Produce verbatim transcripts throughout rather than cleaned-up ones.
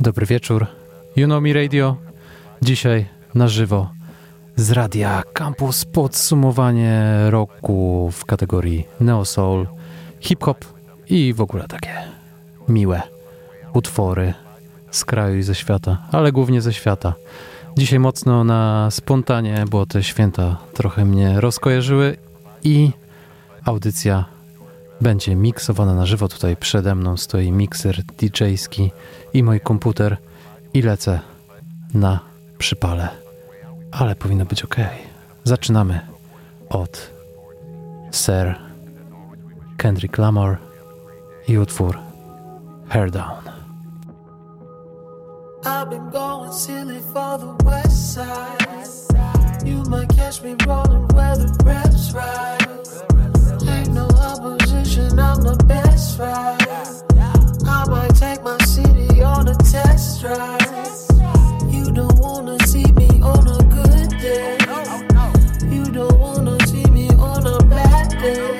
Dobry wieczór. You Know Me Radio. Dzisiaj na żywo z Radia Campus podsumowanie roku w kategorii Neo Soul, hip-hop i w ogóle takie miłe utwory z kraju i ze świata, ale głównie ze świata. Dzisiaj mocno na spontanie, bo te święta trochę mnie rozkojarzyły i audycja będzie miksowana na żywo. Tutaj przede mną stoi mikser D J-ski i mój komputer i lecę na przypale. Ale powinno być ok. Zaczynamy od Sir Kendrick Lamar i utwór Hair Down. I've been going silly for the west side. You might catch me rolling where the reps ride. Ain't no opposition, I'm the best ride. I might take my city on a test drive. You don't wanna see me on a good day. You don't wanna see me on a bad day.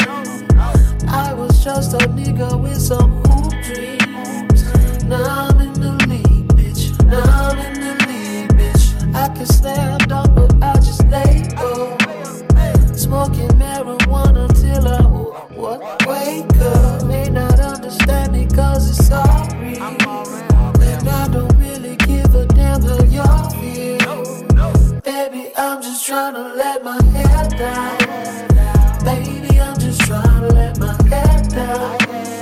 I was just a nigga with some hoop dreams. Now I'm in the league, bitch. Now I'm in the league, bitch. I can slam dunk, but I just lay low. Smoking marijuana till I what, wake up. May not understand it cause it's all real. And I don't really give a damn how y'all feel. Baby, I'm just trying to let my hair down. Baby, I'm just trying to let my hair down.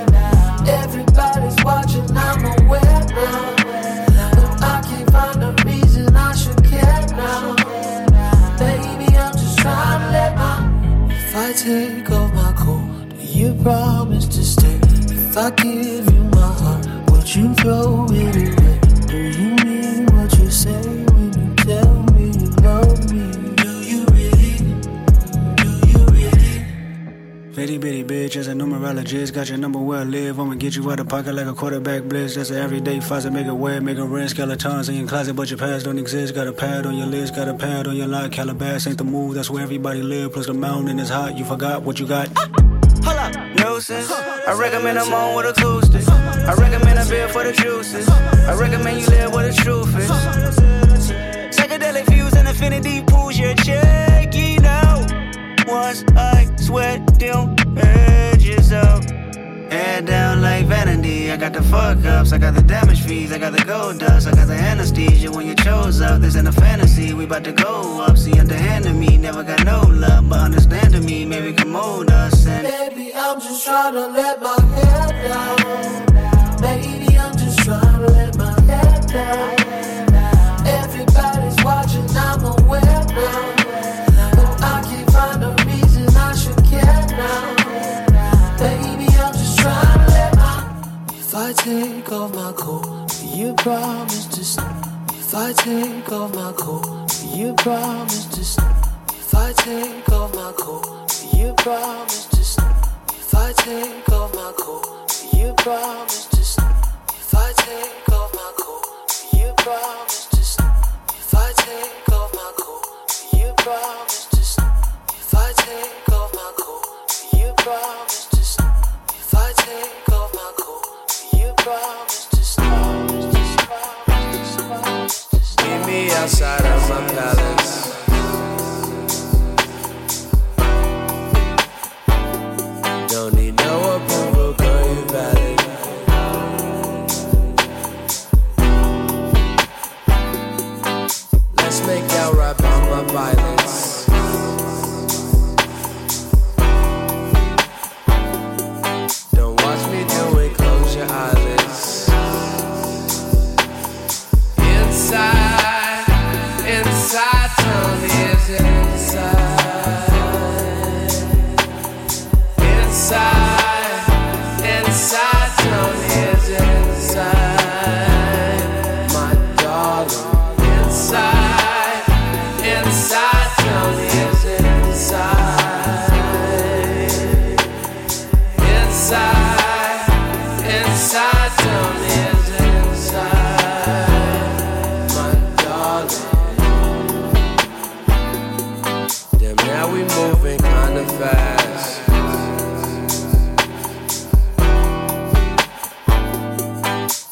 Everybody's watching, I'm aware now. But I can't find a reason I should care now. Baby, I'm just trying to let my... If I take off my coat, do you promise to stay? If I give you my heart, would you throw it away? Do you mean what you say when you tell me you love me? Do you really? Do you really? Bitty bitty bitch, as a numerologist, got your number where I live. I'ma get you out of pocket like a quarterback blitz. That's an everyday faucet, make it wet, make it rinse. Skeletons in your closet, but your past don't exist. Got a pad on your list, got a pad on your lock. Calabas ain't the move, that's where everybody live. Plus the mountain is hot, you forgot what you got. Hold up, nuisance. I recommend I'm on with acoustic. I recommend a beer for the juices. I recommend you live where the truth is. Psychedelic views and infinity pools your check, you know. Once I sweat them edges out. Head down like vanity. I got the fuck ups, I got the damage fees, I got the gold dust, I got the anesthesia when you chose up. This ain't a fantasy, we bout to go up. See, underhanded me, never got no love, but understanding me, maybe come mold us. And baby, I'm just trying to let my hair down. Baby, I'm just trying to let my hair down. Everybody's watching, I'm aware now. But I can't find a reason I should care now. Baby, I'm just trying to let my... If I take off my coat, do you promise to stay? If I take off my coat, do you promise to stay? If I take off my coat, do you promise to stay? If I take off my coat, do you promise to stay? If I take off my coat, do you promise to stay? If I take off my coat, do you promise to stay? If I take off my coat, do you promise to stay? If I take off my coat, do you promise to stay? Meet me outside of my palace. Don't need no approval, girl, you valid. Let's make out right by my violence. Don't watch me do it, close your eyelids. Inside,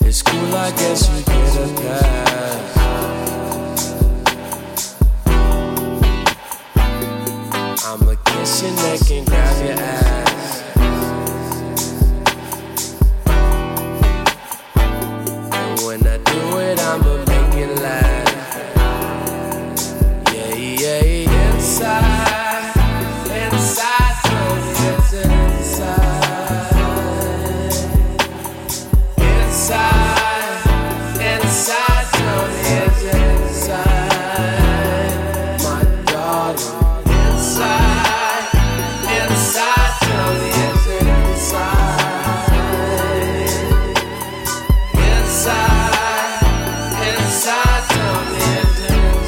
It's cool, I guess you get a pass. I'ma kiss your neck and grab your ass. And when I do it, I'ma make it last. Yeah, yeah, yeah. Inside, inside, tell me it's inside. Inside, inside, tell me it's inside. My darling. Inside, inside, tell me it's inside. Inside, inside, tell me it's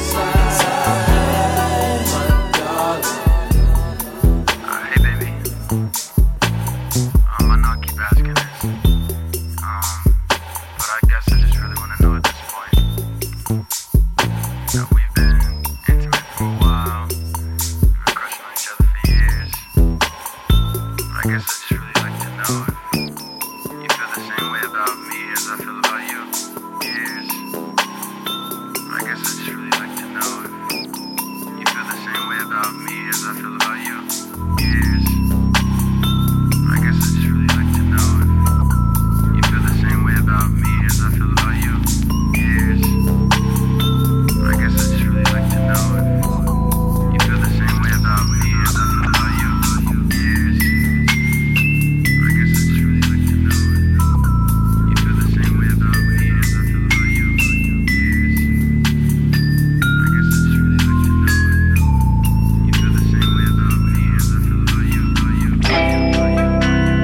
inside. My darling. Uh, hey baby, um, I know I keep asking this, um, but I guess I just really want to know at this point. You know, we've been intimate for a while, we've been crushing on each other for years, but I guess I just really like to know if you feel the same way about me as I feel about you. Years. I guess I just really like to know if you feel the same way about me as I feel about you. Years. I guess I just really like to know if you feel the same way about me as I feel about you. Years. I guess I just really like to know if you feel the same way about me as I feel about you. Years. I guess I just really like to know if you feel the same way about me as I feel about you. Years. I guess I just really like to know if you feel the same way about me as I feel about you. About you. About you. About you.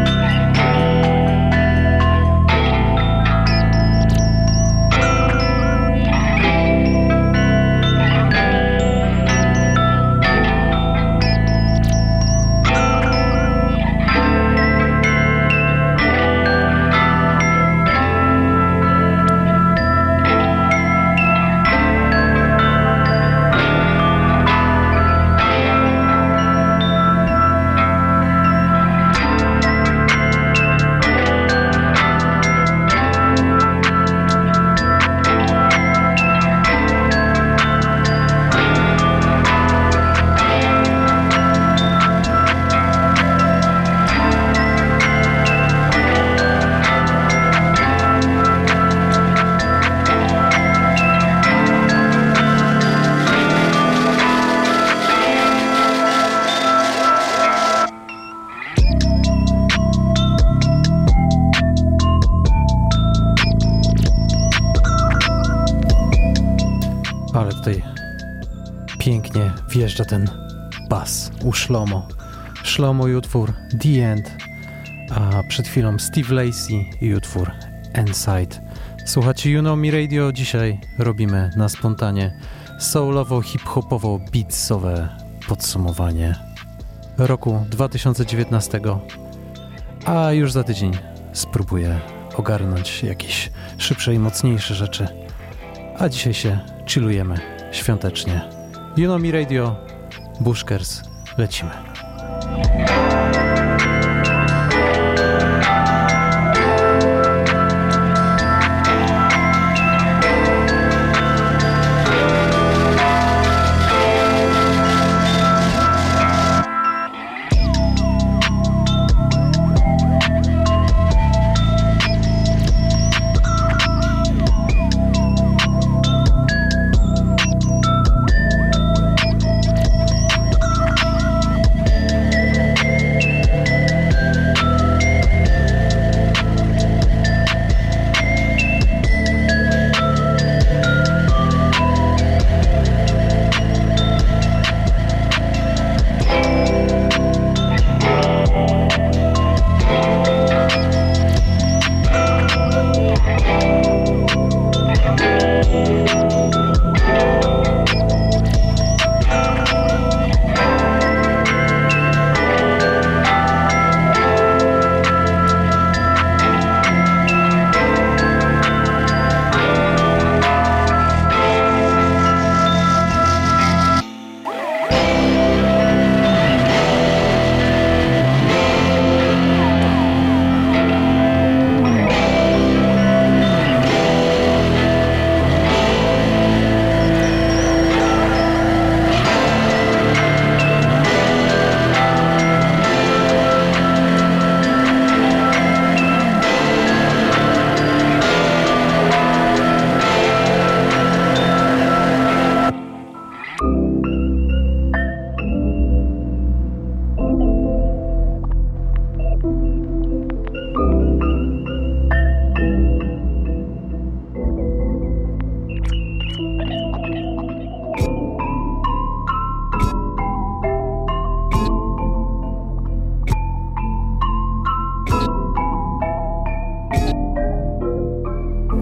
Ale tutaj pięknie wjeżdża ten bas u Shlomo. Shlomo i utwór The End, a przed chwilą Steve Lacy i utwór Inside. Słuchajcie, You Know Me Radio. Dzisiaj robimy na spontanie soulowo-hip-hopowo-beatsowe podsumowanie roku dwa tysiące dziewiętnastego, a już za tydzień spróbuję ogarnąć jakieś szybsze i mocniejsze rzeczy. A dzisiaj się chillujemy świątecznie. You Know Me Radio, Bushkers, lecimy.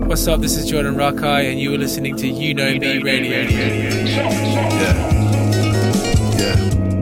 What's up? This is Jordan Rakai, and you were listening to You Know Me Radio. Yeah. Yeah.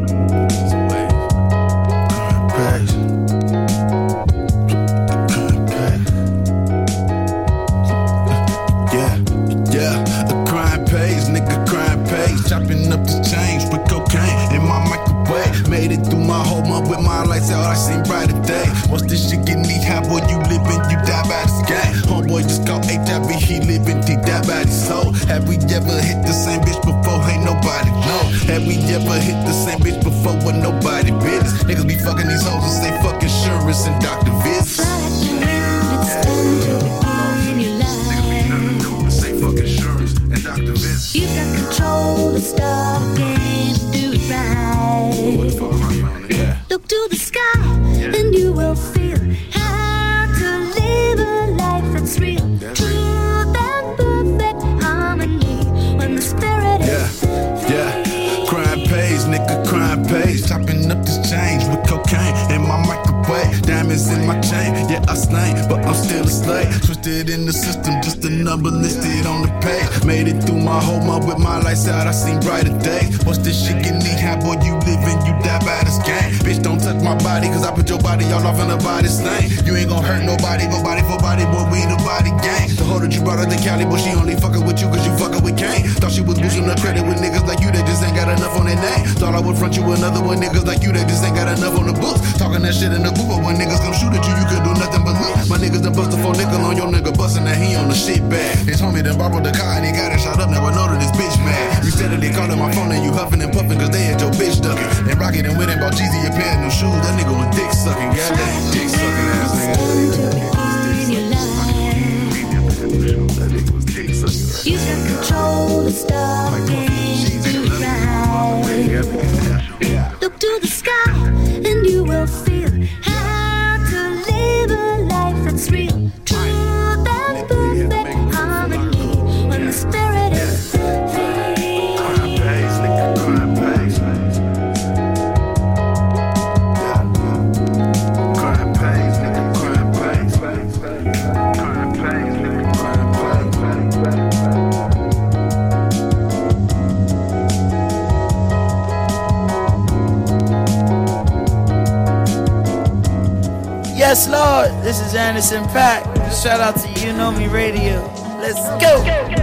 Chopping up the change with cocaine in my microwave. Made it through my whole month with my lights out, I seen brighter day. Once this shit get me high, boy, you living, you die by this game. Homeboy just caught H I V, he living, he died by his soul. Have we ever hit the same bitch before? Ain't nobody know. Have we ever hit the same bitch before with nobody business? Niggas be fucking these hoes and say fuck insurance and doctor visits. You got control to stop and do it right. Look to the sky and you will feel how to live a life that's real. Truth and perfect harmony when the spirit is yeah, yeah. Crime pays, nigga, crime pays. Chopping up this change with cocaine in my microwave. Diamonds in my chain, yeah, I slain, but I'm still a slave. Twisted in the system, just a number listed on the page. Made it through my whole month with my lights out, I seen brighter days. Once this shit get me high, boy, you living, you die by this game. Bitch, don't touch my body, cause I put your body all off in the body stain. You ain't gon' hurt nobody, go body for body, boy, we the body gang. The hoe that you brought her to Cali, but she only fuckin' with you cause you fuckin' with Kane. Thought she was boosting her credit with niggas like you, they just ain't got enough on their name. Thought I would front you another one, niggas like you, they just ain't got enough on the books. Talking that shit in the booth, but when niggas come shoot at you, you could do nothing but look. My niggas done bust a four nickel on your nigga, bustin' that he on the shit bag. His homie done borrowed the car and he got it shot up, now I know that this bitch mad. You said that they callin' my phone and you huffin' and puffin' cause they had your bitch duckin'. And Rocket and went and bought Jeezy a pair of new shoes, that nigga was dick sucking. Yeah, that dick sucking ass nigga. That nigga was dick sucking. you got control to stop and do it right. Look to the sky and you will feel how to live a life that's real. Truth and perfect harmony when the spirit is free. Crime pays, nigga, crime pays. Crime pays, nigga, crime pays. Crime pays, nigga, crime pays. Yes, Lord, this is Anderson Paak. Shout out to You Know Me Radio. Let's go.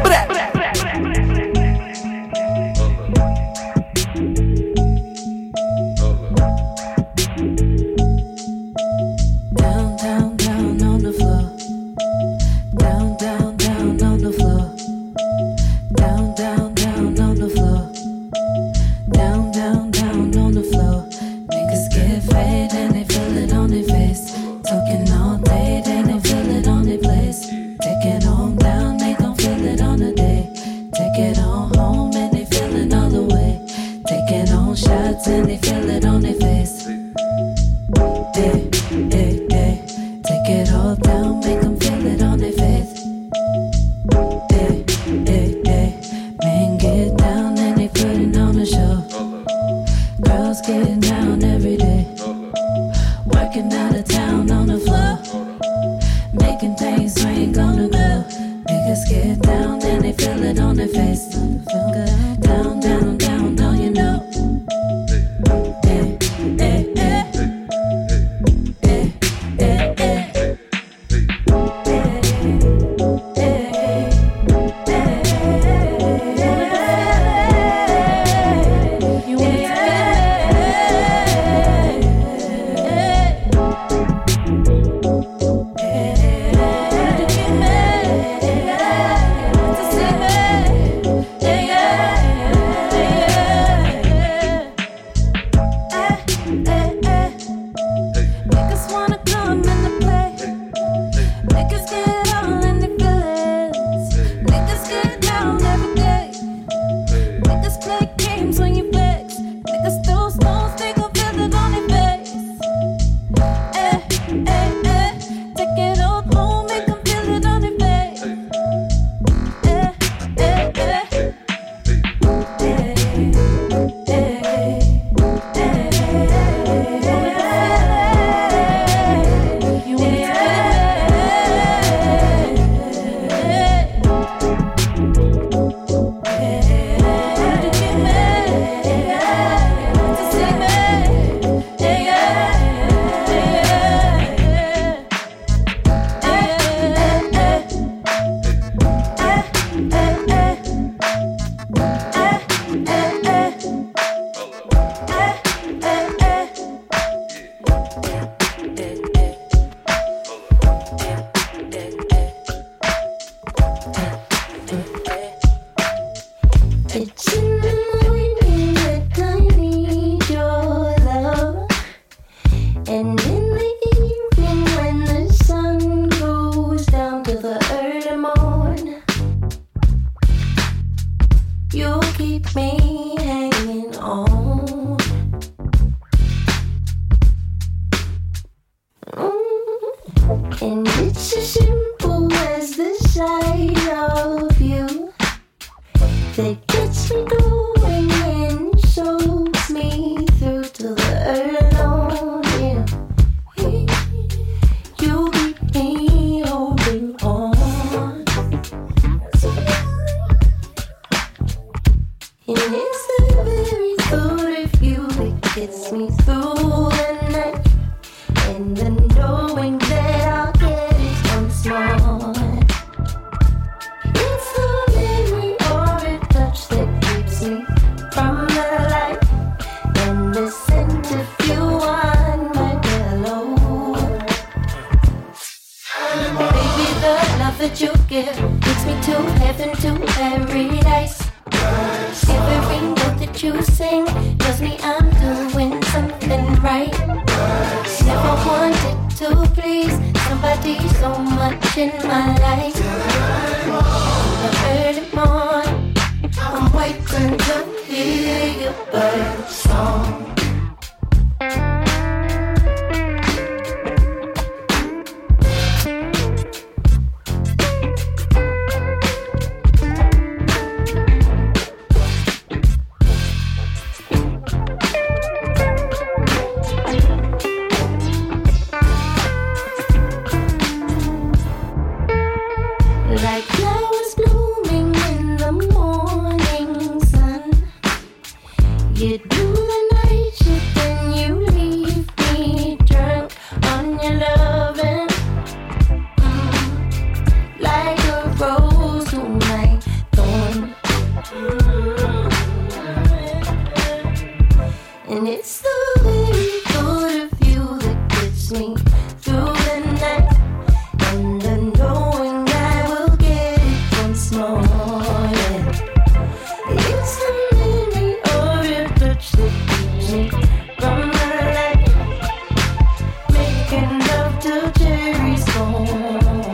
Down, down, down on the floor. Down, down, down on the floor. Down, down, down on the floor. Down, down, down on the floor. Niggas get fed and they feel it on their face. Talking all day, then they feel it on their place. Take it on down, they gon' feel it on the day. Take it on home and they feel it all the way. Take it on shots and they feel it on their face. Hey, hey, hey. Take it all down, make them feel it on their face. Hey, hey, hey. Men get down and they putting on a show. Girls getting down every day. Working out of town on the floor. Making things swing on the go. Niggas get down and they feel it on their face. Feel good. Down, down, down, down, you know. Hey, hey, hey. Hey, hey, hey. You want it to keep me hanging on. Mm. And it's as simple as the sight of you that gets me going and soaks me through till the early morning. You keep me holding on. And it's the very thought of you that gets me through the night. And the knowing that I'll get it once more. It's the memory or a touch that keeps me from the light. And the scent of you on my pillow. Baby, the love that you give takes me to heaven, to paradise. Every note that you sing tells me I'm doing something right. Never wanted to please somebody so much in my life. In the early morning, I'm waiting to hear your bird song. Like flowers blooming in the morning sun. You do the night shift and you leave me drunk on your loving. Mm. Like a rose to my thorn. Mm. And it's the very thought of you that gets me through the night. And the knowing I will get it once more. Yeah. It's the memory of your touch that keeps me from the light. Making love till cherries gone.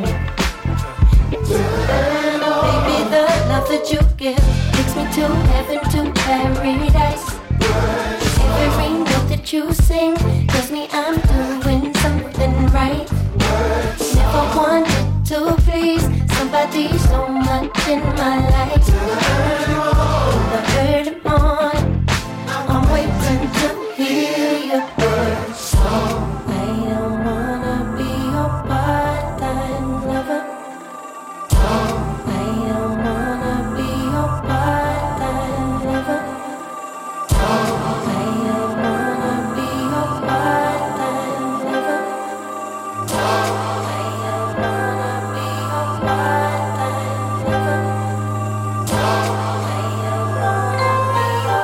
Baby, the love that you give takes me to heaven, to paradise. Every note that you sing tells me I'm doing something right. Never wanted to please somebody so much in my life. In the early morning, I'm waiting to hear your bird song. I don't wanna be your part-time lover. Oh, I don't wanna be your part-time lover. Oh, I don't wanna be your part-time lover. Oh, I don't wanna be your part-time lover. Oh, I don't wanna be your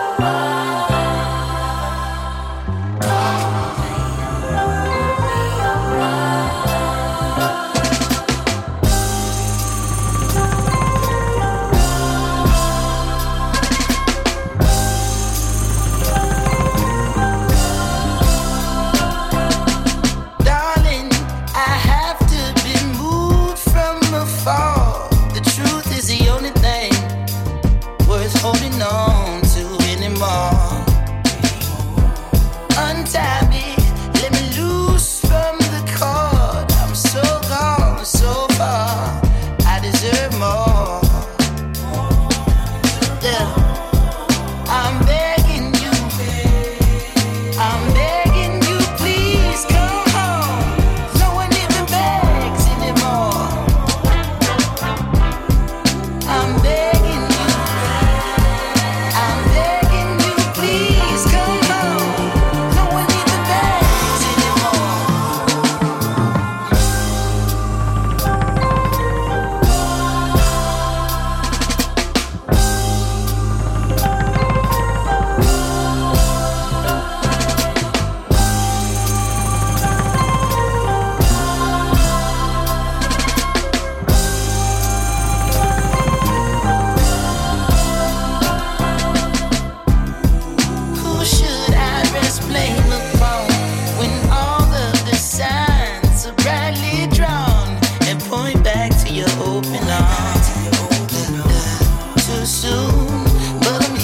part-time lover. Oh, I don't wanna be your Darling, I have to be moved from afar. The truth is the only thing worth holding on to anymore. Untie me, let me loose from the cord. I'm so gone, so far. I deserve more. Yeah. I'm begging you, I'm begging you, please come home. No one even begs anymore. I'm begging you, I'm begging you, please come home. No one even begs anymore. Who should I best blame upon when all of the signs are brightly drawn and point back to your open arms? Too soon, but I'm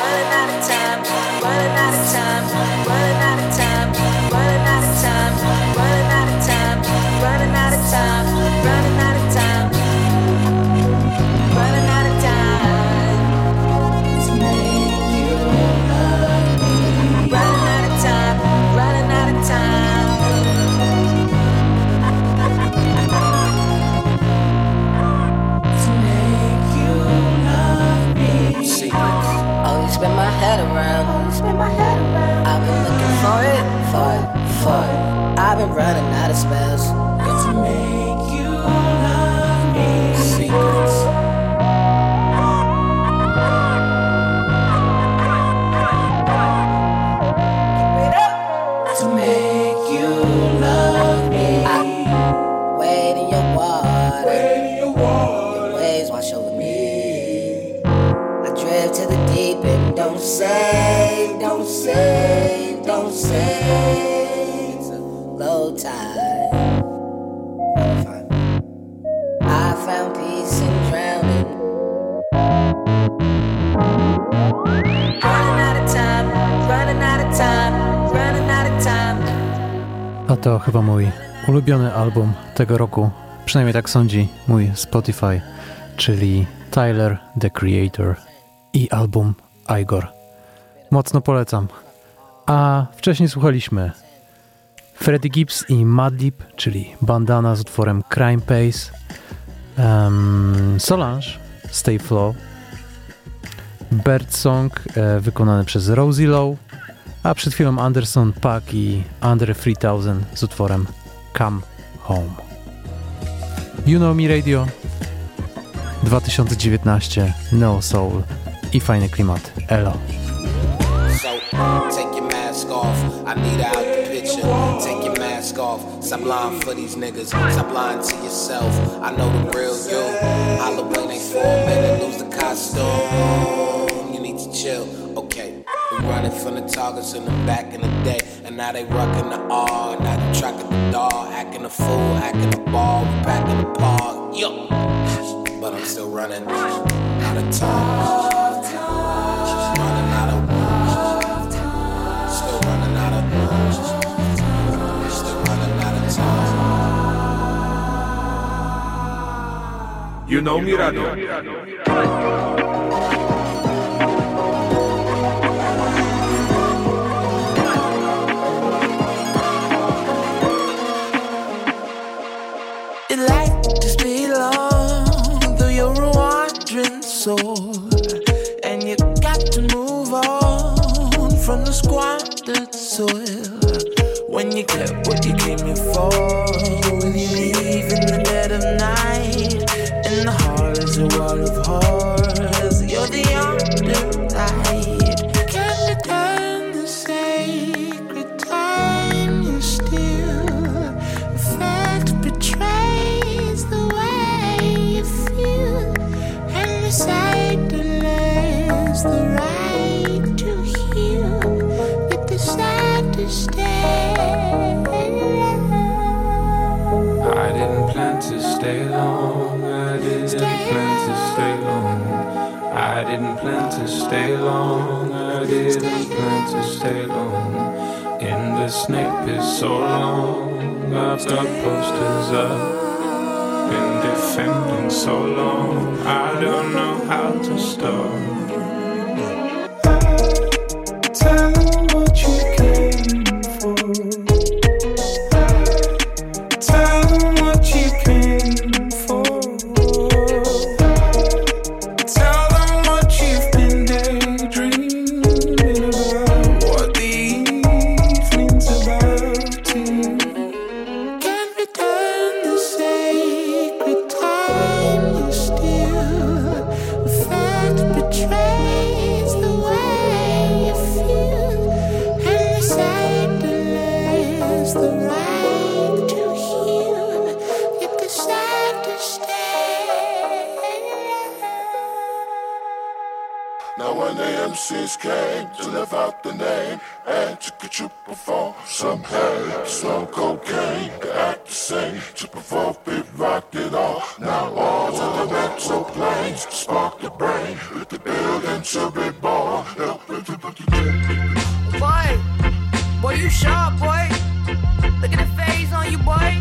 running out of time, running out of time, running out of time, running out of time, running out of time, running out of time, running out of time, running out of time to make you love me. Running out of time, running out of time. To make you love me. Secrets. Always spin my head around. Always spin my head around. I've been looking for it, for it, for it. I've been running out of spells. To make you love me. Secrets. To make you love me. I wade in your water. Wade in your water. Your waves wash over me. I drift to the deep end. Don't say, don't say, don't say. It's a low tide. I'm fine. I found peace in drowning. Running out of time, running out of time, running out of time. A to chyba mój ulubiony album tego roku, przynajmniej tak sądzi mój Spotify, czyli Tyler, The Creator i album Igor. Mocno polecam. A wcześniej słuchaliśmy Freddie Gibbs i Madlib, czyli Bandana z utworem Crime Pace, um, Solange, Stay Flow, Birdsong e, wykonany przez Rosie Lowe, a przed chwilą Anderson .Paak i Andre trzy tysiące z utworem Come Home. You Know Me Radio dwa tysiące dziewiętnaście, Neo Soul i fajny klimat. Elo. So, take your mask off. I need out the picture. Take your mask off. Stop lying for these niggas. Stop lying to yourself. I know the real you. Halloween ain't for a minute. Lose the costume. You need to chill. Okay. We running from the targets in the back in the day. And now they rockin' the R. Now they tracking the dog. Acting a fool. Acting the ball. We packing the park. Yo. But I'm still running out of time. Running out of Still running out of Still running out of time. You Know Me Radio. It like to stay long, though you're a wandering soul, and you got to move on from the squandered soil. When you get what you came here for, will you leave in the dead of night? In the heart is a wall of horrors. You're the underlight. Can you turn the sacred time you steal? The fact betrays the way you feel, and the sight delays the right to heal. Yet decide to stay. I didn't plan to stay long. I didn't plan to stay long. I didn't plan to stay long. I didn't plan to stay long. In the snake pit so long. I've got posters up. Been defending so long. I don't know how to start. Tell them what you came for. Tell them what you came for. Tell them what you've been daydreaming about. What the evening's about too. Can return the sacred time you steal. The fact betrays Cs came to live out the name and to get you perform some hay. Slow cocaine, to act the same, to perform beat, rock it all. Now all to the mental planes, spark the brain, with the building to be born. Boy, boy, you sharp, boy. Look at the phase on you, boy.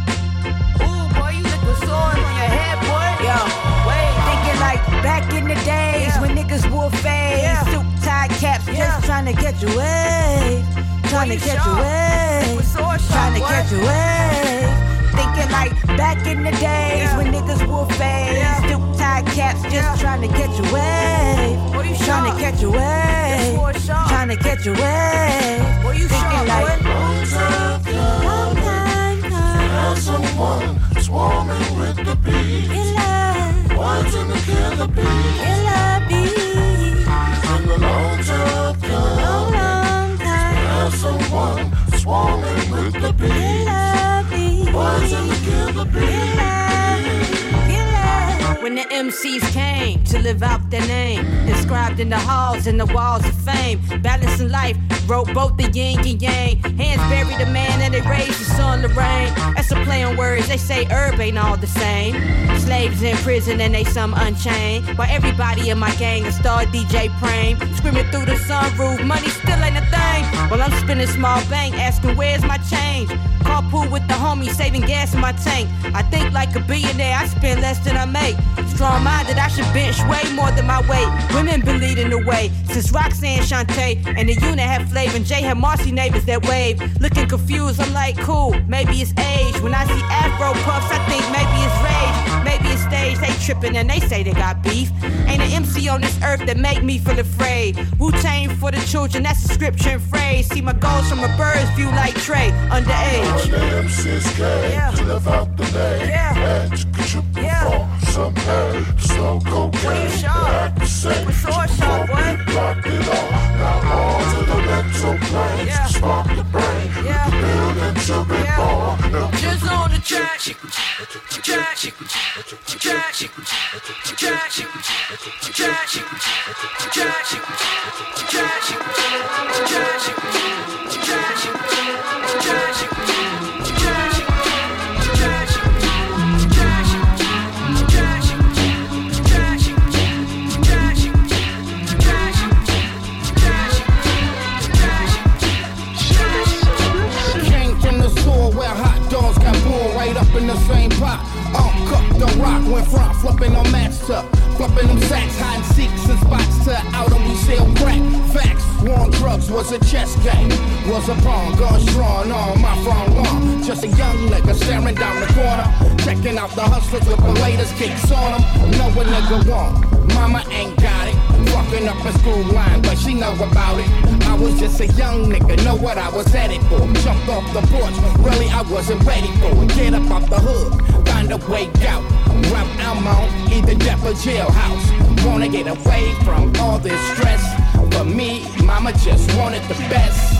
Ooh, boy, you look with swords on your head, boy. Yo, wait, thinking like back in the days yeah. when niggas wore fades, yeah. suit tie caps, yeah. just trying to catch a wave, trying to catch a wave, trying to catch a wave. Thinking like back in the days yeah. when niggas wore fades, yeah. suit tie caps, just yeah. trying to catch a wave, trying to catch a wave, trying to catch a wave. Thinking sharp, like long time come, long time come. Have someone swarming with the bees. Killer, one's in the killer bees. Killer bees. In the long time come, long, long time. Have someone swarming with the bees. Killer bees. One's in the killer bees. When the M Cs came to live out their name, inscribed in the halls and the walls of fame, balancing life, wrote both the yin and yang. Hands buried the man and they raised the sun to rain. That's a play on words, they say herb ain't all the same. Slaves in prison and they some unchained, while everybody in my gang a star D J Prame, screaming through the sunroof, money still ain't a thing. While I'm spinning small bank, asking where's my change. Carpool with the homies, saving gas in my tank. I think like a billionaire, I spend less than I make. Strong-minded, I should bench way more than my weight. Women been leading the way since Roxanne, Shantae, and the unit had Flav and Jay had Marcy neighbors that wave. Looking confused, I'm like, cool, maybe it's age. When I see Afro puffs, I think maybe it's rage. Maybe it's stage, they tripping and they say they got beef. Ain't an M C on this earth that make me feel afraid. Wu-Tang for the children, that's a scripture and phrase. See my goals from a bird's view like Trey, underage. All the M Cs came yeah. to live out the name yeah. and to get you perform yeah. some hay. Slow cocaine, to act the same, to perform beat, rock it all. Now all to the mental plane, yeah. spark the brain, yeah. the building to be yeah. born. Just on the track, track, track, track, Came from the sewer where hot dogs got pulled right up in the same pot. Uncooked, don't rock, went front, flipping on match tuck. Flipping them sacks, hide and seeks and spots to out and we sell crack. Facts, war on drugs was a chess game. Was a pawn, guns drawn on my front lawn. Just a young nigga staring down the corner. Checking out the hustlers with the latest kicks on them. Know a nigga want, mama ain't got it. Fucking up a school line, but she know about it. I was just a young nigga, know what I was headed for. Jumped off the porch, really I wasn't ready for it. Get up off the hood, find a way out. Route I'm on, either death or jailhouse. Wanna get away from all this stress. For me, mama just wanted the best.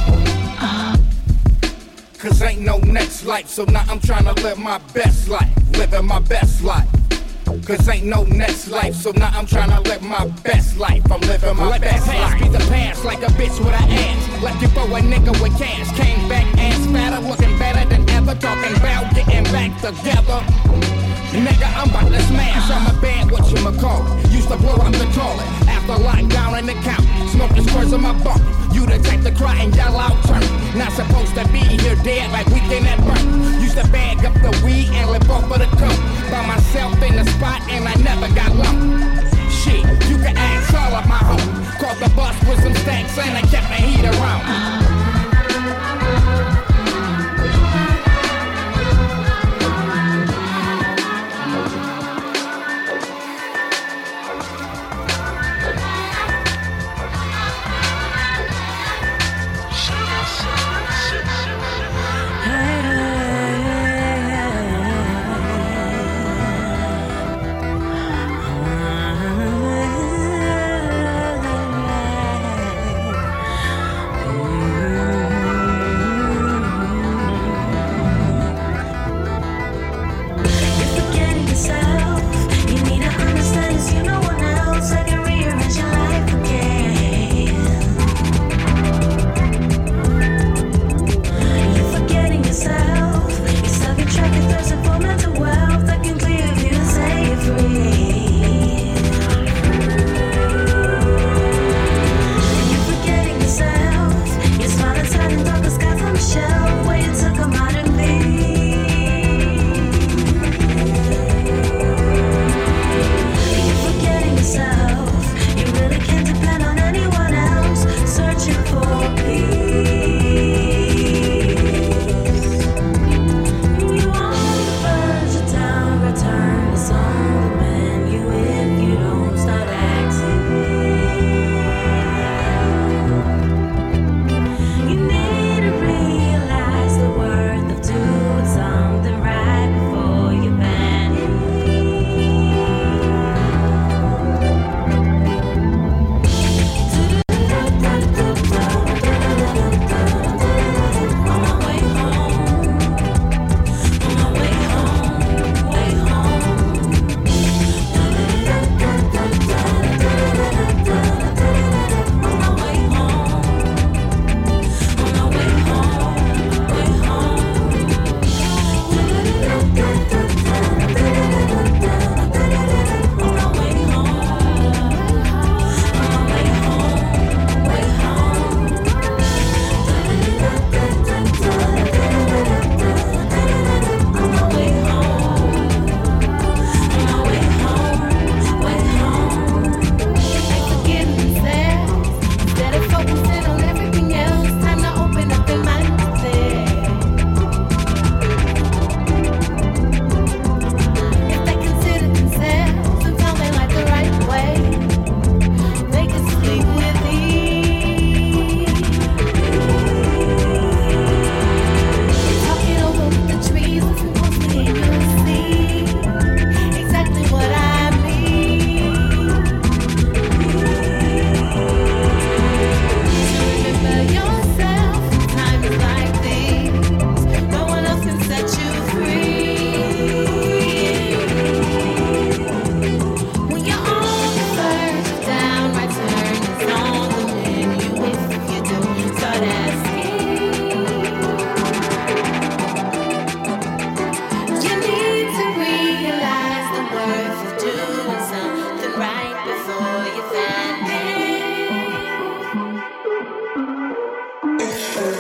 Cause ain't no next life, so now I'm tryna live my best life. Living my best life. Cause ain't no next life, so now I'm tryna live my best life. I'm living my Let best life. Let the past be the past, like a bitch with an ass. Left you for a nigga with cash. Came back ass fatter, looking better than ever. Talking about getting back together. Nigga, I'm about to smash. I'm a bad what you call it. Used to blow up the toilet after lockdown in the count. Smoking squirts in my bunk. You the type to cry and yell out turn. Not supposed to be here dead like weekend at birth. Used to bag up the weed and live off of the coke. By myself in the spot and I never got lumped. Shit, you can ask all of my homies. Caught the bus with some stacks and I kept my heat around.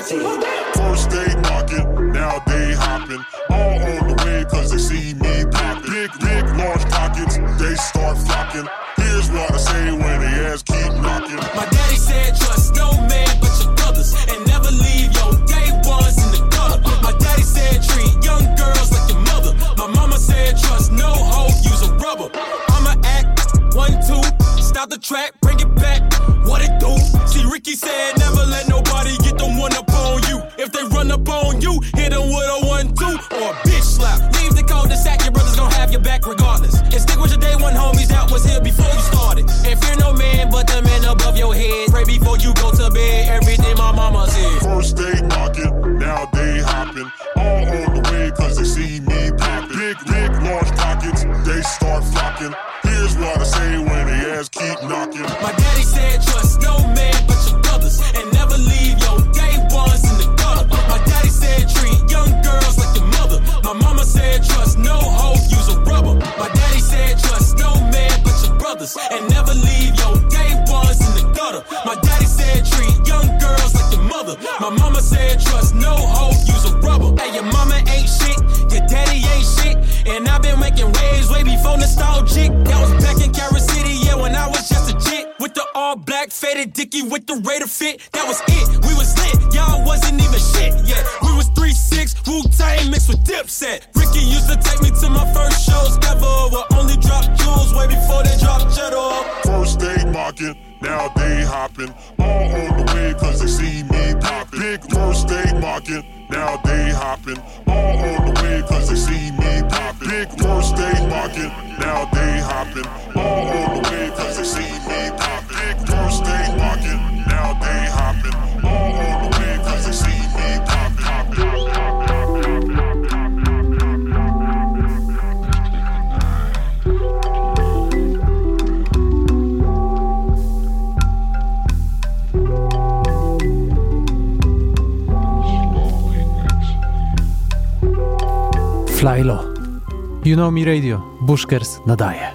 First they knocking, now they hopping. All on the way cause they see me popping. Big, big, large pockets, they start flocking. Here's what I say when they ass keep knocking. My daddy said trust no man but your brothers, and never leave your day ones in the gutter. My daddy said treat young girls like your mother. My mama said trust no hoe, use a rubber. I'ma act one, two, stop the track, bring it back. What it do? See, Ricky said never let nobody get them one up on you. If they run up on you, hit them with a one, two, or a bitch slap. Leave the cul-de-sac, your brothers gon' have your back regardless. And stick with your day one homies that was here before you started. And fear no man but the man above your head. Pray before you go to bed, everything my mama said. First they knocking, now they hopping. All on the way cause they see me popping. Big, big, large pockets, they start flocking. Here's what I say when they ass keep knocking. My daddy said trust no man but your brothers, and never leave your day ones in the gutter. My daddy said treat young girls like your mother. My mama said trust no hoe, use a rubber. My daddy said trust no man but your brothers, and never leave your day ones in the gutter. My daddy said treat young girls like your mother. My mama said trust no hoe, use a rubber. Hey, your mama ain't shit, your daddy ain't shit, and I've been making waves way before nostalgic. That was back in Carol City, yeah, when I was just a jit. With the all black faded dicky with the Raider fit, that was it. We was lit, y'all wasn't even shit. Yeah, we was three six, Wu-Tang mixed with Dipset. Ricky used to take me to my first shows ever. Where only drop jewels way before they drop cheddar. First they mocking, now they hopping. All on the way cause they see me popping. Big first they mocking, now they hopping. All on the way cause they see me popping. Big first they mocking, now they hopping. All on the way cause they see me popping. Big first they mocking, now they hopping. All on the way cause they see me popping. Fly Low. You Know Me Radio. Bushkers nadaje.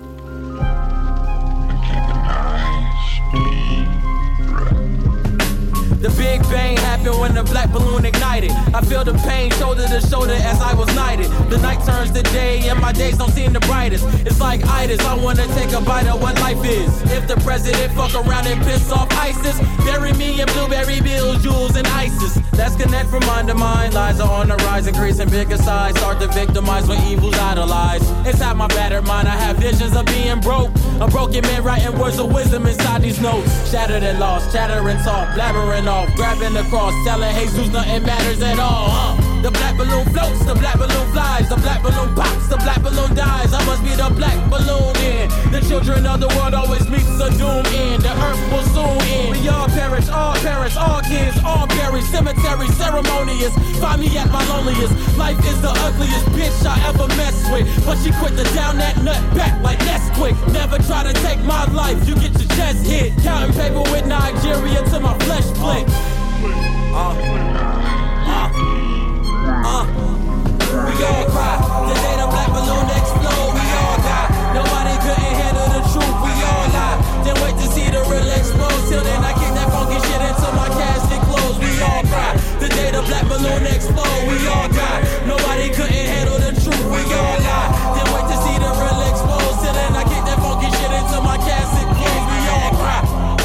The Big Bang happened when the black balloon ignited. I feel the pain shoulder to shoulder as I was knighted. The night turns to day and my days don't seem the brightest. It's like itis, I wanna take a bite of what life is. If the president fuck around and piss off ISIS, bury me in blueberry bills, jewels, and ISIS. Let's connect from mind to mind. Lies are on the rise, increasing bigger size. Start to victimize when evil's idolized. Inside my battered mind, I have visions of being broke. A broken man writing words of wisdom inside these notes. Shattered and lost, chattering talk, blabbering off, grabbing the cross, telling Jesus nothing matters at all. Uh. The black balloon floats, the black balloon flies, the black balloon pops, the black balloon dies. I must be the black balloon in. The children of the world always meets a doom in. The earth will soon end. We all perish, all perish, all kids, all buried. Cemetery ceremonious. Find me at my loneliest. Life is the ugliest bitch I ever messed with, but she quit to down that nut back like Nesquik. Never try to take my life, you get your chest hit. Counting paper with Nigeria till my flesh blink. Uh, uh. Uh, we all cry. The day the black balloon explode, we all die. Nobody couldn't handle the truth, we all lie. Then wait to see the real explode. Till then I kick that funky shit until my casket closed. We all cry. The day the black balloon explode, we all die. Nobody couldn't handle the truth, we all lie. Then wait to see the real explode. Till then I kick that funky shit until my casket closed. We all cry.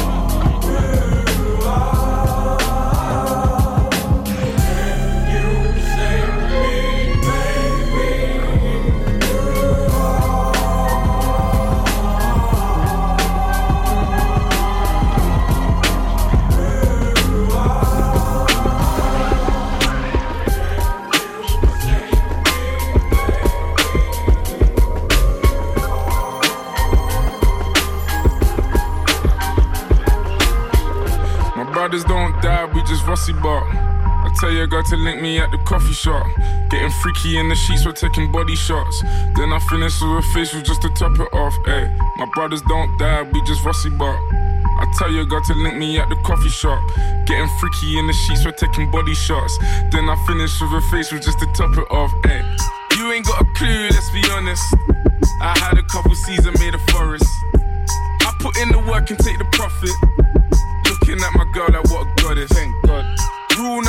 Brothers don't die, we just rusty bark. I tell your girl to link me at the coffee shop. Getting freaky in the sheets, we're taking body shots. Then I finish with a facial just to top it off. Ay, my brothers don't die, we just rusty bark. I tell your girl to link me at the coffee shop. Getting freaky in the sheets, we're taking body shots. Then I finish with a facial just to top it off. Ay, you ain't got a clue, let's be honest. I had a couple seasons made a forest. I put in the work and take the profit. Looking at my girl like what a goddess. Thank God. Rule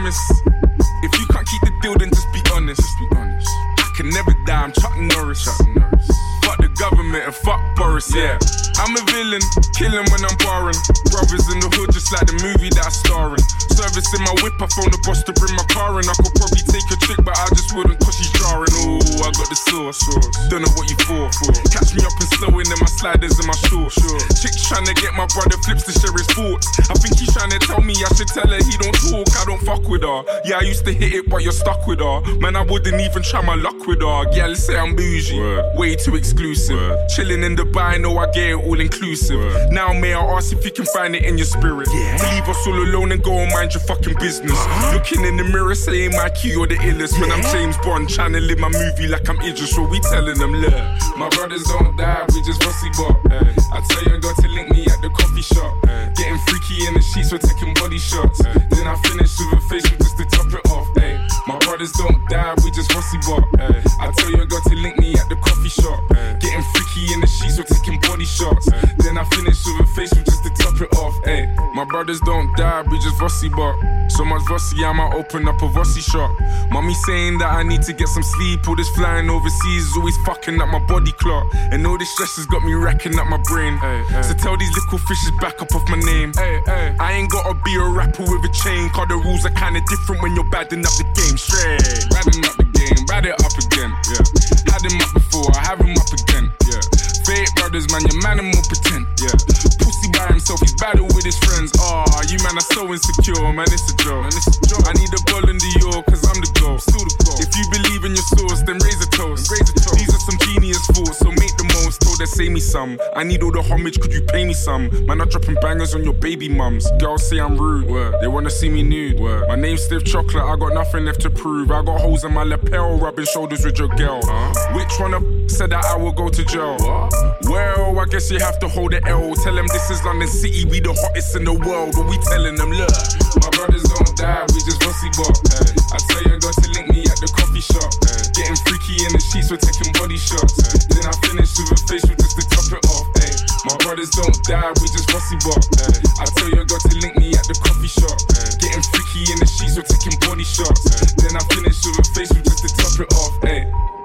promise. If you can't keep the deal, then just be honest. Just be honest. I can never die, I'm Chuck Norris. Chuck Norris. Fuck the government and fuck Boris, yeah. I'm a villain, killing when I'm barring. Brothers in the hood, just like the movie that I star in. Service in my whip, I phone the boss to bring my car in. I could probably take a chick, but I just wouldn't cause she's jarring. Ooh, I got the sauce, don't know what you for. Catch me up and slowing in my sliders and my shorts. Chick's trying to get my brother flips to share his thoughts. I think he's trying to tell me I should tell her he don't talk, I don't fuck with her. Yeah, I used to hit it, but you're stuck with her. Man, I wouldn't even try my luck with her. Yeah, let's say I'm bougie, Word. way too exclusive. Word. Chilling in Dubai, know I get it all inclusive. Word. Now may I ask if you can find it in your spirit? Yeah. To leave us all alone and go and mind your fucking business. Uh-huh. Looking in the mirror, saying my key or the illest. Yeah. Man, I'm James Bond, trying to live my movie like I'm Idris. So we telling them, look, my brothers don't die, we just rusty bop. Hey. I tell you, I got to link me at the coffee shop. Hey. Getting freaky in the sheets, we're taking body shots. Hey. Then I finish with a facial just to top it off. Hey. My brothers don't die, we just rusty bop. Hey. I tell you, I got to link me at the coffee shop. Hey. Getting freaky in the sheets, we're taking body shots. Hey. Then I finish with a facial just to top it off. Hey. My brothers don't die, we just rusty bop. So much Vossi, I might open up a Vossi shop. Mommy saying that I need to get some sleep. All this flying overseas is always fucking up my body clock. And all this stress has got me racking up my brain. Ay, ay. So tell these little fishes back up off my name. Ay, ay. I ain't gotta be a rapper with a chain, cause the rules are kinda different when you're badding up the game. Straight, badding up the game, bad it up again. Yeah. Had him up before, I have him up again. Yeah. Fake brothers, man, your man and more pretend. Yeah. Pussy by himself, he's battle with his friends. Ah, oh, you man are so insecure, man, it's a joke. Man, it's a joke. I need a ball in the York, cause I'm the goal. Still the goal. If you believe in your source, then raise a toast. Raise a toast. These are some genius thoughts, so make the most. Told her, say me some. I need all the homage, could you pay me some? Man, I'm dropping bangers on your baby mums. Girls say I'm rude, Word. They wanna see me nude. Word. My name's Stiff Chocolate, I got nothing left to prove. I got holes in my lapel, rubbing shoulders with your girl. Huh? Which one of said that I will go to jail? What? Well, I guess you have to hold the L. Tell them this is London City, we the hottest in the world. But we telling them, look, my brothers don't die, we just rusty bop. Hey. I tell you, I got to link me at the coffee shop. Hey. Getting freaky in the sheets, we're taking body shots. Hey. Then I finish with a facial just to top it off. Hey. My brothers don't die, we just rusty bop. Hey. I tell you, I got to link me at the coffee shop. Hey. Getting freaky in the sheets, we're taking body shots. Hey. Then I finish with a facial just to top it off. Hey.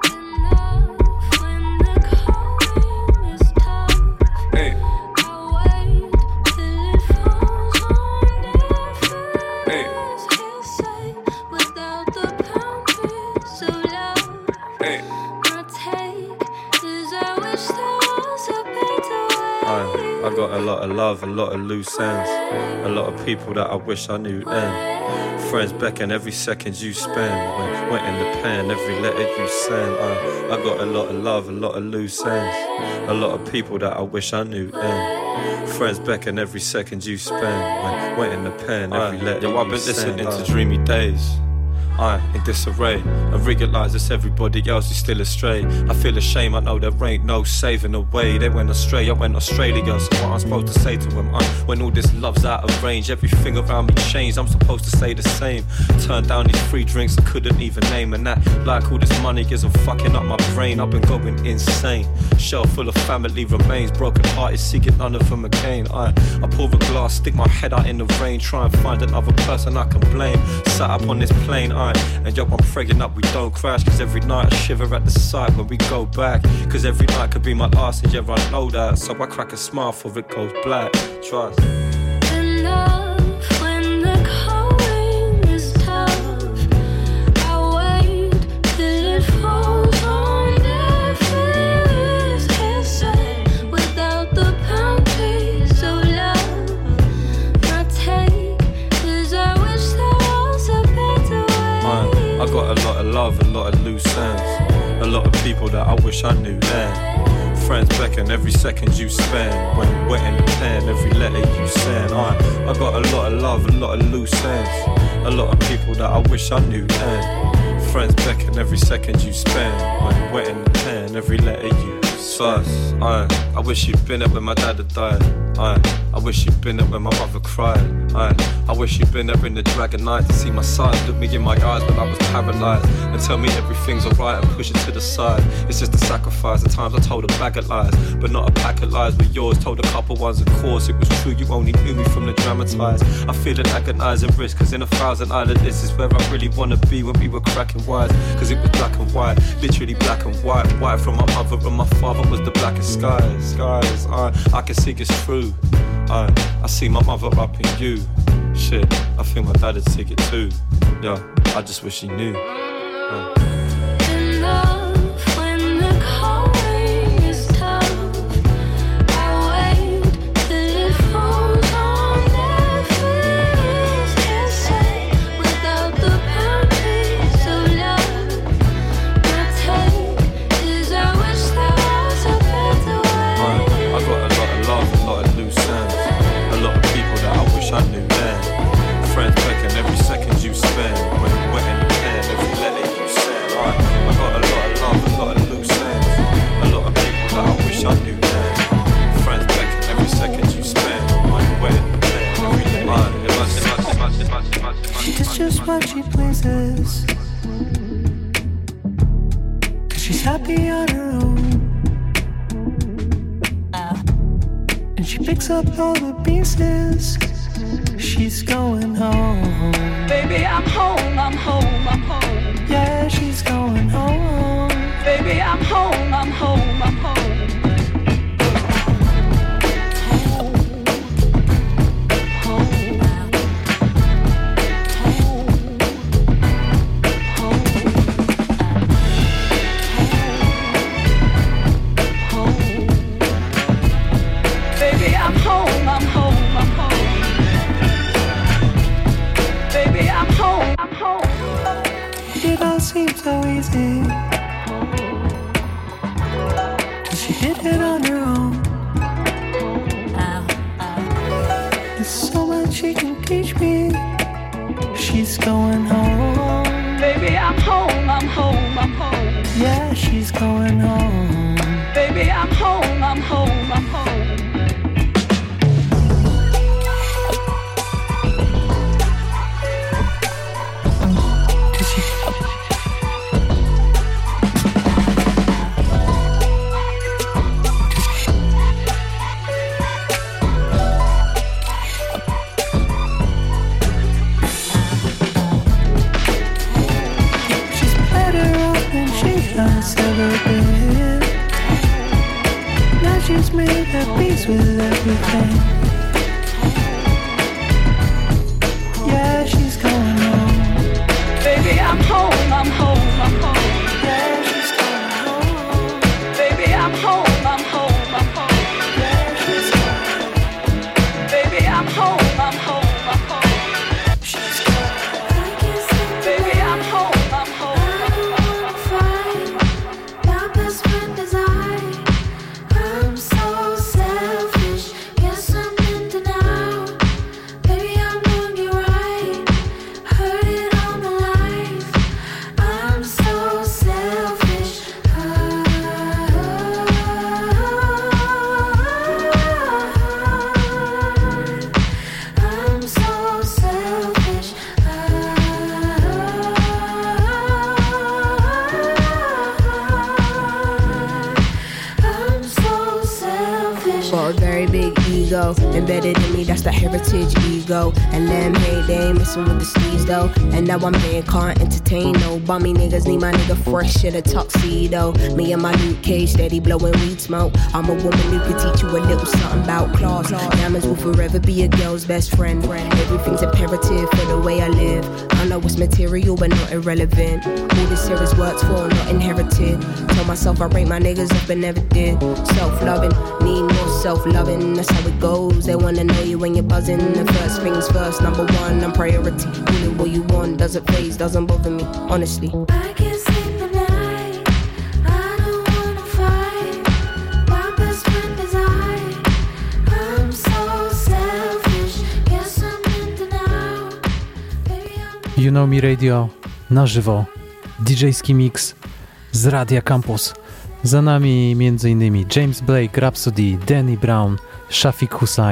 Hey. I got a lot of love, a lot of loose ends, a lot of people that I wish I knew then. Friends beckon every second you spend, when went in the pen, every letter you send. I, I got a lot of love, a lot of loose ends, a lot of people that I wish I knew then. Friends beckon every second you spend, when went in the pen, every I, letter yo, I've been listening to uh, dreamy days. I in disarray. I realise it's everybody else is still astray. I feel ashamed, I know there ain't no saving away. They went astray, I went Australia. So what I'm supposed to say to them, I, when all this love's out of range, everything around me changed, I'm supposed to say the same. Turn down these free drinks I couldn't even name. And that, like all this money isn't fucking up my brain. I've been going insane. Shelf full of family remains, broken hearted, seeking none of them again. I, I pour a glass, stick my head out in the rain, try and find another person I can blame. Sat up on this plane, I and yo, I'm praying up we don't crash. Cause every night I shiver at the sight when we go back. Cause every night could be my last and yeah, I know that. So I crack a smile before it goes black. Trust. I got a lot of love, a lot of loose ends, a lot of people that I wish I knew then. Friends beckon every second you spend, when wet in the pen, every letter you send. I, I got a lot of love, a lot of loose ends, a lot of people that I wish I knew then. Friends beckon every second you spend, when wet in the pen, every letter you send. I, I wish you'd been up when my dad had died. I, I wish you'd been there when my mother cried. Aye. I wish you'd been there in the dragon night to see my side. Look me in my eyes when I was paralyzed and tell me everything's alright and push it to the side. It's just a sacrifice. At times I told a bag of lies, but not a pack of lies with yours. Told a couple ones, of course it was true. You only knew me from the dramatized. I feel an agonizing risk, cause in a thousand island this is where I really wanna be when we were cracking wise. Cause it was black and white, literally black and white. White from my mother and my father was the blackest skies. Skies, I, I can see it's true. I, I see my mother up in you. Shit, I feel my dad'd take it too. Yeah, I just wish he knew. Uh. I knew then. Friends begging every second you spend. When you went in the pen, every letter you sent. I, I got a lot of love, a lot of loose ends. A lot of people that I wish I knew then. Friends begging every second you spend. When you went in the pen, every letter. She's just what she pleases, cause she's happy on her own. And she picks up all the pieces. She's going home. Baby, I'm home, I'm home, I'm home. Yeah, she's going home. Baby, I'm home, I'm home, I'm home. Seems so easy, cause she did it on her own. There's so much she can teach me. She's going home. Baby, I'm home, I'm home, I'm home. Yeah, she's going home. Baby, I'm home, I'm home, I'm home. Made her peace with everything. Yeah, she's going home. Baby, I'm home, I'm home, I'm home. Yeah, she's going home. Baby, I'm home, I'm home, I'm home. Yeah, she's going home. Baby, I'm home, I'm home, I'm home. She's going home. Baby, I'm home, I'm home, I'm home. My best friend is I. I'm so selfish. Yes, I'm in denial. Baby, I'm doing you right. Heard it all my life. I'm so selfish. I'm so selfish. Got a very big ego embedded in me, that's the heritage ego. And them hate, they ain't messing with the steez though. And now I'm here, can't entertain no bummy niggas. Need my nigga fresh in a tuxedo. Me and my Luke Cage steady blowing weed smoke. I'm a woman who could teach you a little something about class. Diamonds will forever be a girl's best friend. Everything's imperative for the way I live. I know it's material but not irrelevant. All this here is worked for, not inherited. Tell myself I rate my niggas up and never did. Self-loving, need more self-loving, that's how it goes. They wanna know you when you're buzzing. The first things first, number one, I'm priority. Call it what you want, doesn't phase, doesn't bother me, honestly. I can't sleep at night. I don't wanna fight. My best friend is I. I'm so selfish. Yes, I'm in denial. Baby, I'm You Know Me Radio na żywo. didżejski mix z Radia Campus. Za nami m.in. James Blake, Rhapsody, Danny Brown, Shafiq Hussain,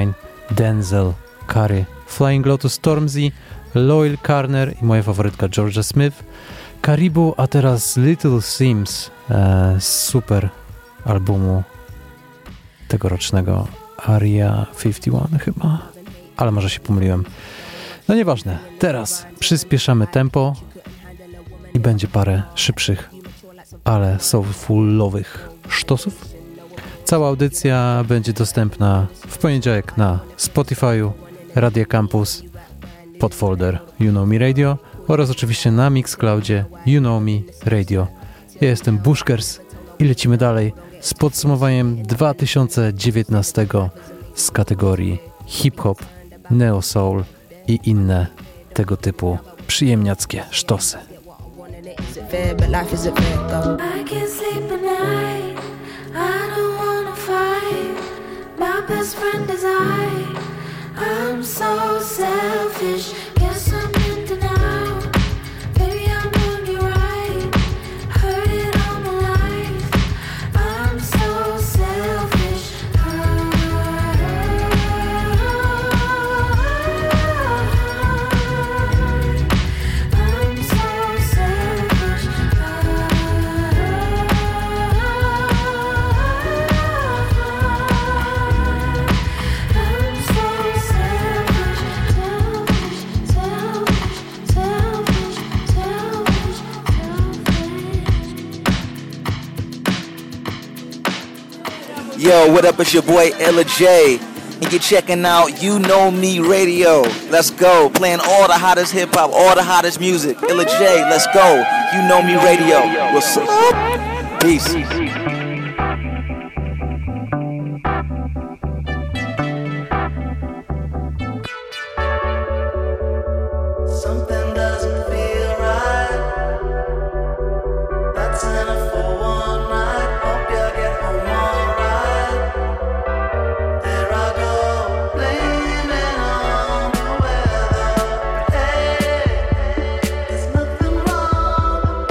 Denzel Curry, Flying Lotus Stormzy, Loyal Carner i moja faworytka Georgia Smith, Caribou, a teraz Little Sims e, z super albumu tegorocznego Area pięćdziesiąt jeden chyba, ale może się pomyliłem. No nieważne, teraz przyspieszamy tempo i będzie parę szybszych, ale soulfulowych sztosów. Cała audycja będzie dostępna w poniedziałek na Spotify'u, Radia Campus, podfolder You Know Me Radio oraz oczywiście na Mixcloudzie You Know Me Radio. Ja jestem Bushkers i lecimy dalej z podsumowaniem dwa tysiące dziewiętnastego z kategorii hip-hop, neo-soul i inne tego typu przyjemniackie sztosy. My best friend is I. I'm so selfish. Guess I'm in denial. Baby, I'm doing you right. Heard it all my life. I'm so selfish. I'm so selfish. Yo, what up, it's your boy Ella J, and you're checking out You Know Me Radio. Let's go, playing all the hottest hip-hop, all the hottest music. Ella J, let's go, You Know Me Radio. What's up? Peace. Something doesn't feel right. That's enough for one night. Hope you get home alright. There I go, blaming on the weather. Hey, there's nothing wrong.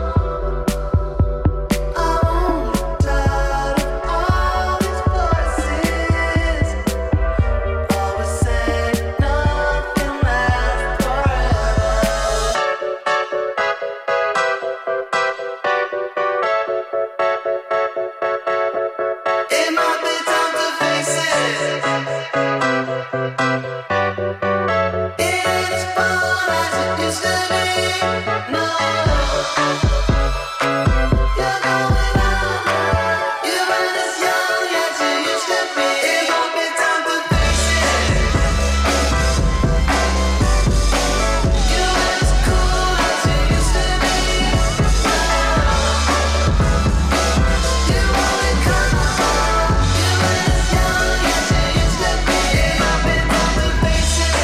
I'm only tired of all these voices. Always say nothing lasts forever. It might be time to face it. It ain't as fun as it used to be. No, you're going on. You ain't as young as you used to be. It might be time to face it. You ain't as cool as you used to be. You only come on. You ain't as young as you used to be. It might be time to face it.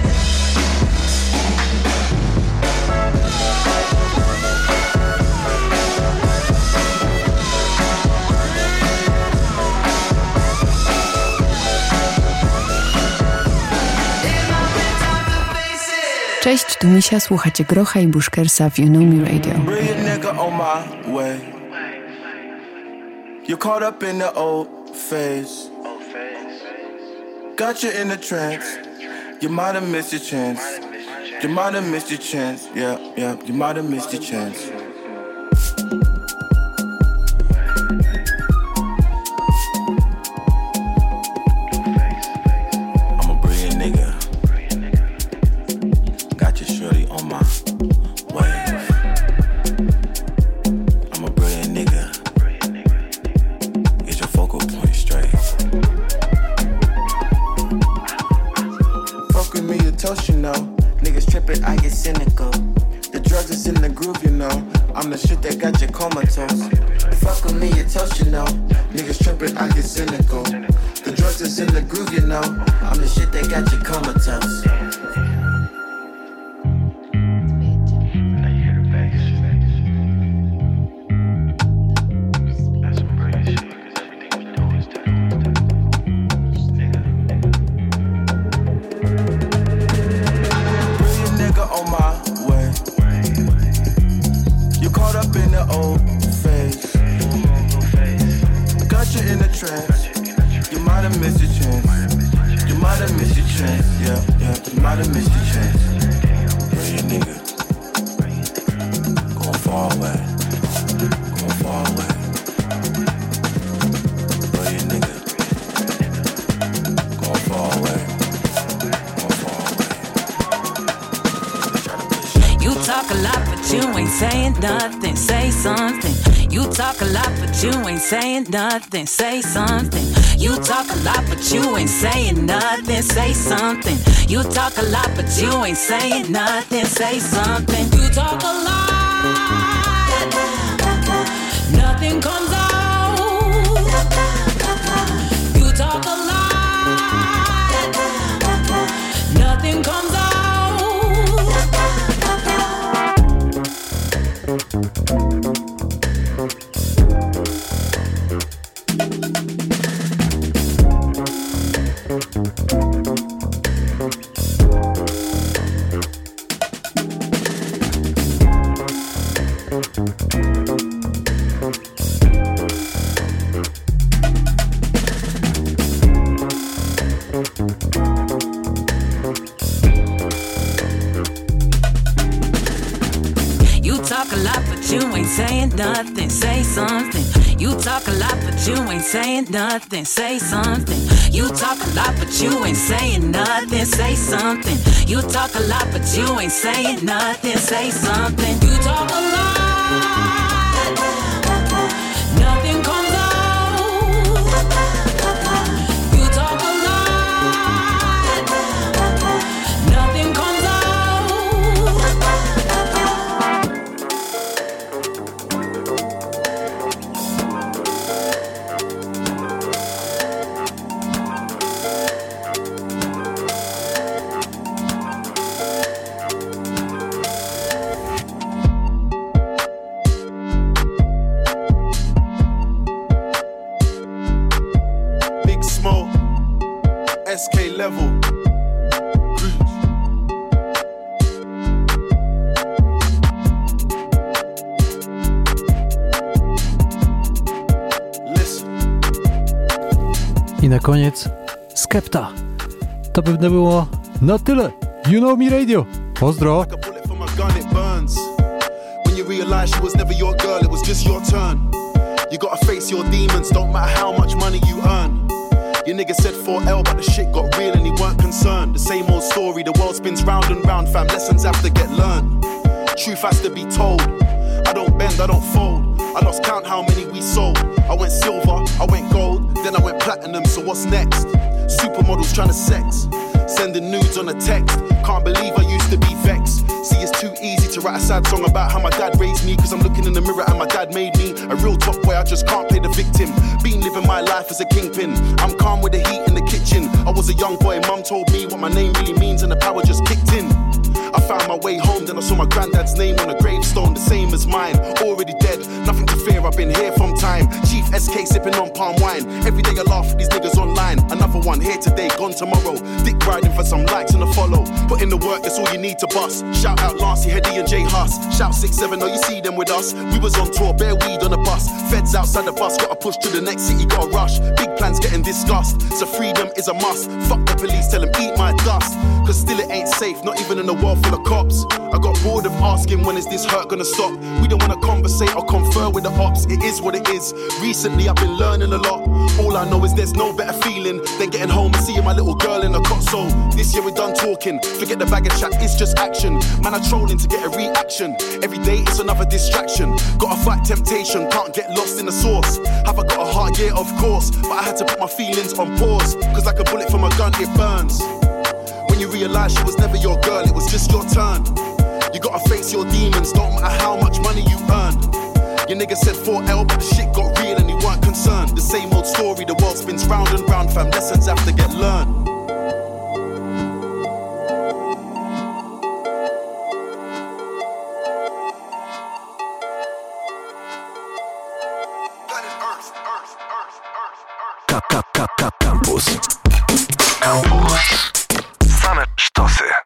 Cześć, tu Misia, słuchacie Grocha i Bushkersa w You Know Me Radio. Brilliant nigga on my way. You're caught up in the old phase. Got you in a trance. You might have missed your chance. You might have missed your chance. Yeah, yeah, you might have missed your chance. I'm a brilliant nigga. Got you shorty on my wave. I'm a brilliant nigga. Get your focal point straight. Fuck with me, you toast, you know. Niggas trippin', I get cynical. The drugs is in the groove, you know. I'm the shit that got you comatose. Fuck with me, you toast, you know. Niggas trippin', I get cynical. The drugs is in the groove, you know. I'm the shit that got you comatose. Brilliant nigga on my way. You caught up in the old phase. Got you in a trance. You might have missed your chance. You might have missed try to miss the chance. But your nigga gon' fall away, gon' fall away. But your nigga gon' fall away, gon' fall away. You talk a lot, but you ain't saying nothing. Say something. You talk a lot, but you ain't saying nothing. Say something. You talk a lot, but you ain't saying nothing. Say something. You talk a lot, but you ain't saying nothing. Say something. You talk a lot, nothing comes out. You talk a lot, nothing comes out. Nothing, say something. You talk a lot, but you ain't saying nothing. Say something. You talk a lot, but you ain't saying nothing. Say something. You talk a lot, but you ain't saying nothing. Say something. You talk a lot, nothing comes out. You talk a lot, nothing comes out. S K level. I na koniec Skepta. To pewnie było na tyle. You Know Me Radio. Pozdro. When you realize she was never your girl, it was just your turn. You gotta face your demons, don't matter how much money you earn. Your nigga said four L, but the shit got real and he weren't concerned. The same old story, the world spins round and round, fam. Lessons have to get learned. Truth has to be told. I don't bend, I don't fold. I lost count how many we sold. I went silver, I went gold, then I went platinum, so what's next? Supermodels trying to sex, sending nudes on a text. Can't believe I used to be vexed. See, it's too easy to write a sad song about how my dad raised me, cause I'm looking in the mirror and my dad made me a real top boy. I just can't play the victim. Been living my life as a kingpin. I'm calm with the heat in the kitchen. I was a young boy, mum told me what my name really means and the power just kicked in. I found my way home, then I saw my granddad's name on a gravestone, the same as mine. Already dead, nothing to fear, I've been here from time. Chief S K sipping on palm wine. Every day I laugh at these niggas online. Another one here today, gone tomorrow. Dick riding for some likes and a follow. Put in the work, that's all you need to bust. Shout out Lancey, Hedy and J Huss. Shout six seven, oh you see them with us. We was on tour, bare weed on the bus. Feds outside the bus, gotta push to the next city, gotta rush. Big plans getting discussed, so freedom is a must. Fuck the police, tell them eat my dust. Cause still it ain't safe, not even in a world full of cops. I got bored of asking when is this hurt gonna stop. We don't wanna conversate or confer with the ops. It is what it is. Recently I've been learning a lot. All I know is there's no better feeling than getting home and seeing my little girl in the cot. So this year we're done talking. Forget the bag of chat, it's just action. Man, I'm trolling to get a reaction. Every day it's another distraction. Gotta fight temptation, can't get lost in the source. Have I got a heart? Yeah, of course. But I had to put my feelings on pause. Cause like a bullet from a gun, it burns. When you realize she was never your girl, it was just your turn. You gotta face your demons, don't matter how much money you earn. Your nigga said four L, but the shit got real and he weren't concerned. The same old story, the world spins round and round, fam. Lessons have to get learned.